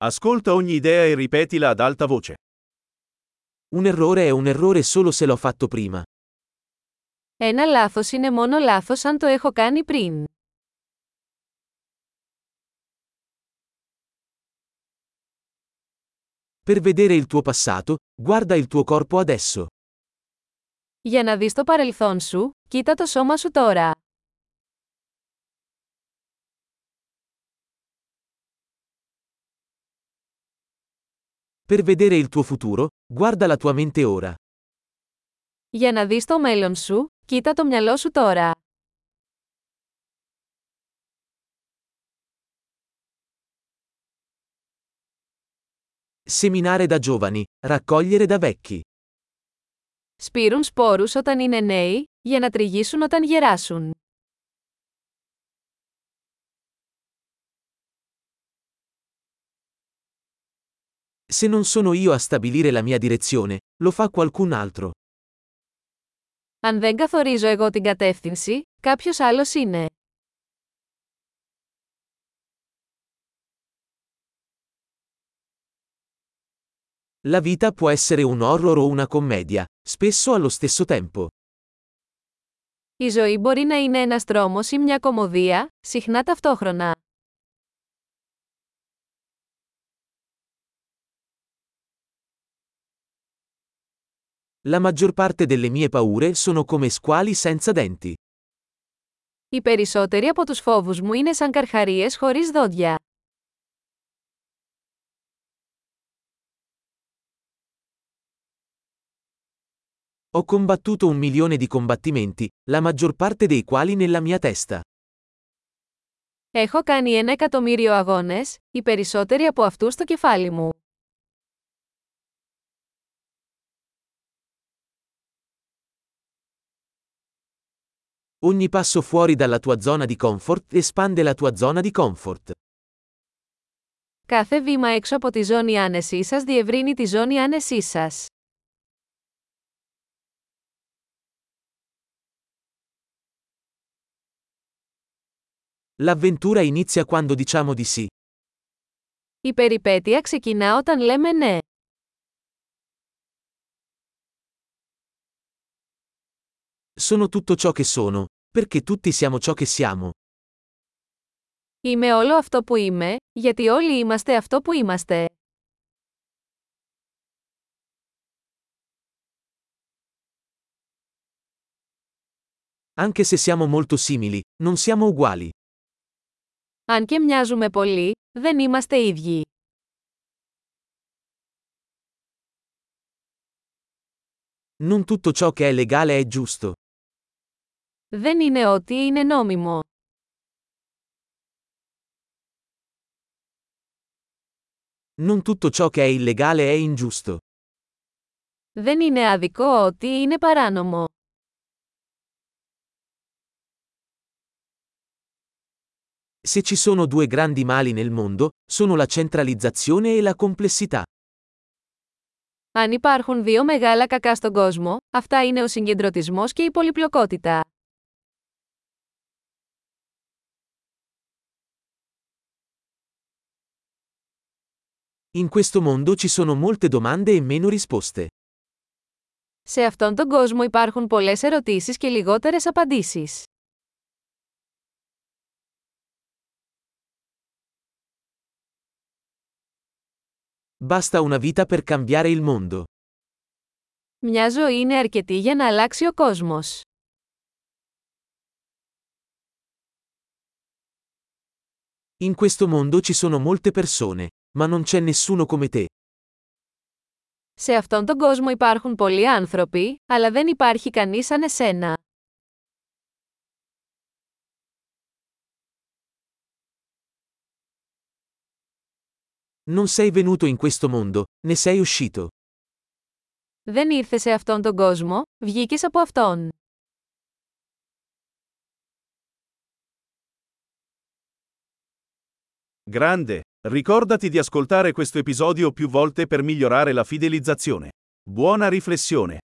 Ascolta ogni idea e ripetila ad alta voce. Un errore è un errore solo se l'ho fatto prima. Ένα λάθος είναι μόνο λάθος αν το έχω κάνει πριν. Per vedere il tuo passato, guarda il tuo corpo adesso. Για να δεις το παρελθόν σου, κοίτα το σώμα σου τώρα. Per vedere il tuo futuro, guarda la tua mente ora. Για να δεις το μέλλον σου, κοίτα το μυαλό σου τώρα. Seminare da giovani, raccogliere da vecchi. Σπείρουν σπόρους όταν είναι νέοι, για να τριγύσουν όταν γεράσουν. Se non sono io a stabilire la mia direzione, lo fa qualcun altro. Αν δεν καθορίζω εγώ την κατεύθυνση, κάποιος άλλος είναι. La vita può essere un horror o una commedia, spesso allo stesso tempo. Η ζωή μπορεί να είναι ένας τρόμος ή μια κωμωδία, συχνά ταυτόχρονα. La maggior parte delle mie paure sono come squali senza denti. Οι περισσότεροι από τους φόβους μου είναι σαν καρχαρίες χωρίς δόντια. Ho combattuto 1 milione di combattimenti, la maggior parte dei quali nella mia testa. Έχω κάνει 1.000.000 αγώνες, οι περισσότεροι από αυτούς στο κεφάλι μου. Ogni passo fuori dalla tua zona di comfort espande la tua zona di comfort. Κάθε βήμα έξω από τη ζώνη άνεσής σας διευρύνει τη ζώνη άνεσής σας. L'avventura inizia quando diciamo di sì. Η περιπέτεια ξεκινά όταν λέμε ναι. Sono tutto ciò che sono, perché tutti siamo ciò che siamo. Είμαι όλο αυτό που είμαι, γιατί όλοι είμαστε αυτό που είμαστε. Anche se siamo molto simili, non siamo uguali. Αν και μοιάζουμε πολύ, δεν είμαστε ίδιοι. Non tutto ciò che è legale è giusto. Δεν είναι ό,τι είναι νόμιμο. Non tutto ciò che è illegale è ingiusto. Δεν είναι άδικο ό,τι είναι παράνομο. Se ci sono 2 grandi mali nel mondo, sono la centralizzazione e la complessità. Αν υπάρχουν 2 μεγάλα κακά στον κόσμο, αυτά είναι ο συγκεντρωτισμός και η πολυπλοκότητα. In questo mondo ci sono molte domande e meno risposte. Σε αυτόν τον κόσμο υπάρχουν πολλές ερωτήσεις και λιγότερες απαντήσεις. Basta una vita per cambiare il mondo. Μια ζωή είναι αρκετή για να αλλάξει ο κόσμος. In questo mondo ci sono molte persone, ma non c'è nessuno come te. Σε αυτόν τον κόσμο υπάρχουν πολλοί άνθρωποι, αλλά δεν υπάρχει κανείς σαν εσένα. Non sei venuto in questo mondo, ne sei uscito. Δεν ήρθες σε αυτόν τον κόσμο, βγήκες από αυτόν. Grande, ricordati di ascoltare questo episodio più volte per migliorare la fidelizzazione. Buona riflessione!